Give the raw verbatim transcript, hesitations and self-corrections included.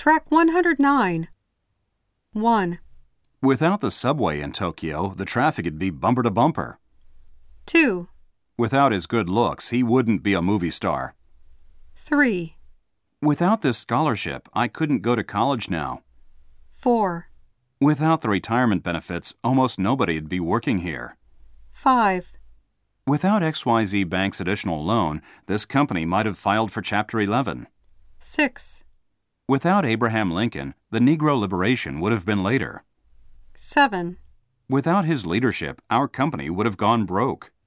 Track one hundred nine. one, Without the subway in Tokyo, the traffic'd be bumper to bumper. two, Without his good looks, he wouldn't be a movie star. three, Without this scholarship, I couldn't go to college now. four, Without the retirement benefits, almost nobody'd be working here. five, Without X Y Z Bank's additional loan, this company might have filed for Chapter eleven. six, Without Abraham Lincoln, the Negro liberation would have been later. seven, Without his leadership, our company would have gone broke.